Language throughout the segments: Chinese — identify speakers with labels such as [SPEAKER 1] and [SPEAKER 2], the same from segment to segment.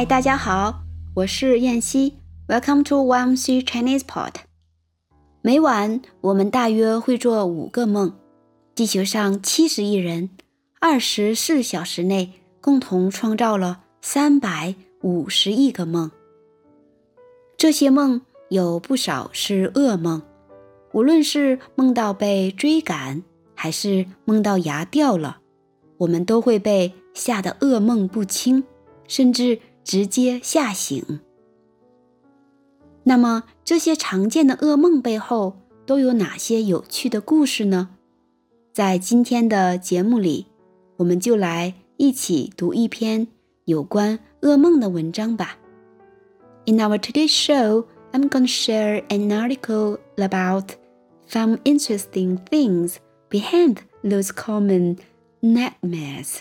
[SPEAKER 1] 嗨，大家好，我是燕西 Welcome to YMC Chinese Pod。 每晚我们大约会做5个梦。地球上70亿人24小时内共同创造了350亿个梦。这些梦有不少是噩梦，无论是梦到被追赶，还是梦到牙掉了，我们都会被吓得噩梦不清，甚至直接吓醒。那么这些常见的噩梦背后都有哪些有趣的故事呢？在今天的节目里，我们就来一起读一篇有关噩梦的文章吧。In our today's show, I'm going to share an article about some interesting things behind those common nightmares.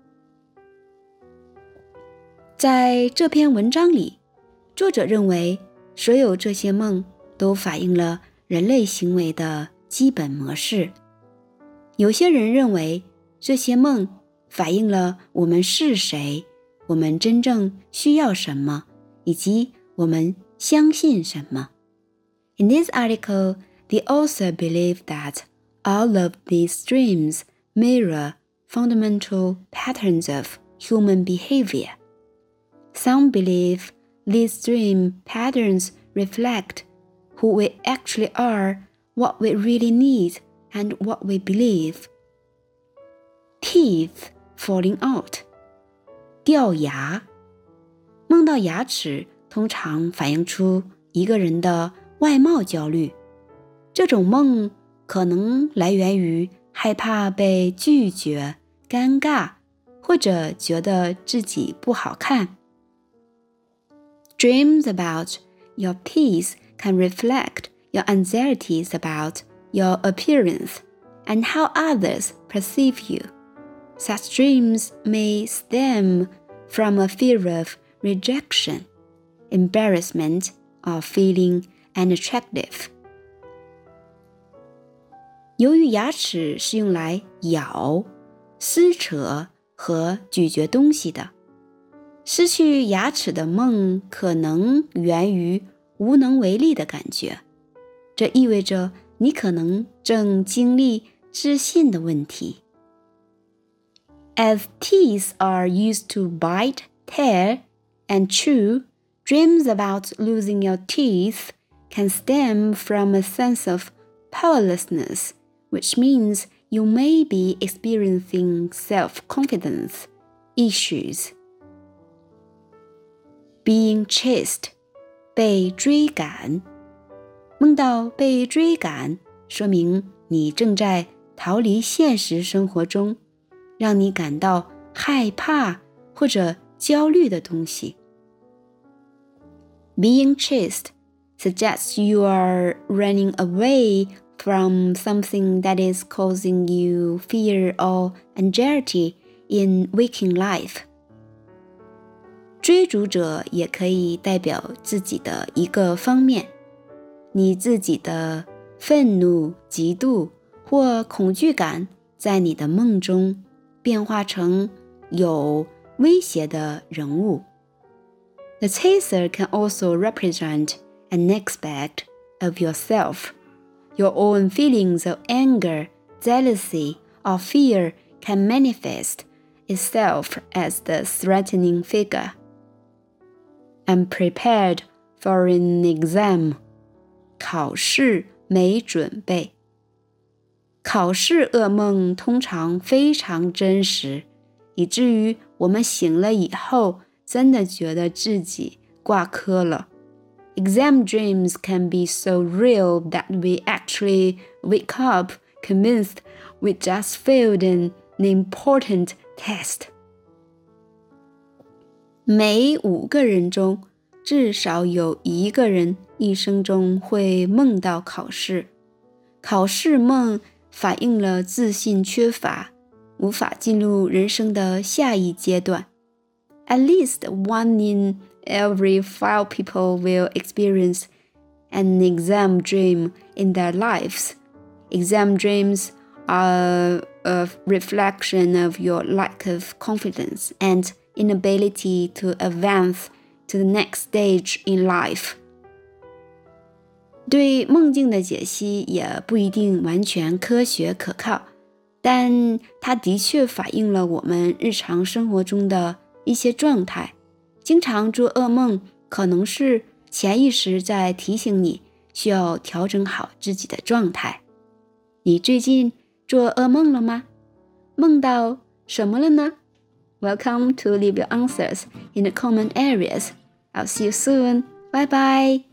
[SPEAKER 1] 在这篇文章里，作者认为所有这些梦都反映了人类行为的基本模式。有些人认为这些梦反映了我们是谁，我们真正需要什么，以及我们相信什么。In this article, the author believed that all of these dreams mirror fundamental patterns of human behavior. Some believe these dream patterns reflect who we actually are, what we really need, and what we believe. Teeth falling out. 掉牙。梦到牙齿通常反映出一个人的外貌焦虑。这种梦可能来源于害怕被拒绝、尴尬，或者觉得自己不好看。Dreams about your teeth can reflect your anxieties about your appearance and how others perceive you. Such dreams may stem from a fear of rejection, embarrassment, or feeling unattractive. 由于牙齿是用来咬、撕扯和咀嚼东西的，失去牙齿的梦可能源于无能为力的感觉，这意味着你可能正经历自信的问题。As teeth are used to bite, tear, and chew, dreams about losing your teeth can stem from a sense of powerlessness, which means you may be experiencing self-confidence issues. Being chased, 被追赶。梦到被追赶，说明你正在逃离现实生活中让你感到害怕或者焦虑的东西。Being chased suggests you are running away from something that is causing you fear or anxiety in waking life. 追逐者也可以代表自己的一个方面，你自己的愤怒、嫉妒或恐惧感在你的梦中变化成有威胁的人物。The chaser can also represent an aspect of yourself. Your own feelings of anger, jealousy, or fear can manifest itself as the threatening figure. I'm prepared for an exam. 考试没准备。考试噩梦通常非常真实，以至于我们醒了以后真的觉得自己挂科了。Exam dreams can be so real that we actually wake up convinced we just failed an important test. 每5个人中至少有1个人一生中会梦到考试。考试梦反映了自信缺乏，无法进入人生的下一阶段。At least 1 in every 5 people will experience an exam dream in their lives. Exam dreams are a reflection of your lack of confidence and inability to advance to the next stage in life. 对梦境的解析也不一定完全科学可靠，但它的确反映了我们日常生活中的一些状态。经常做噩梦可能是潜意识在提醒你需要调整好自己的状态。你最近做噩梦了吗？梦到什么了呢？ Welcome to leave your answers in the comment areas. I'll see you soon. Bye bye.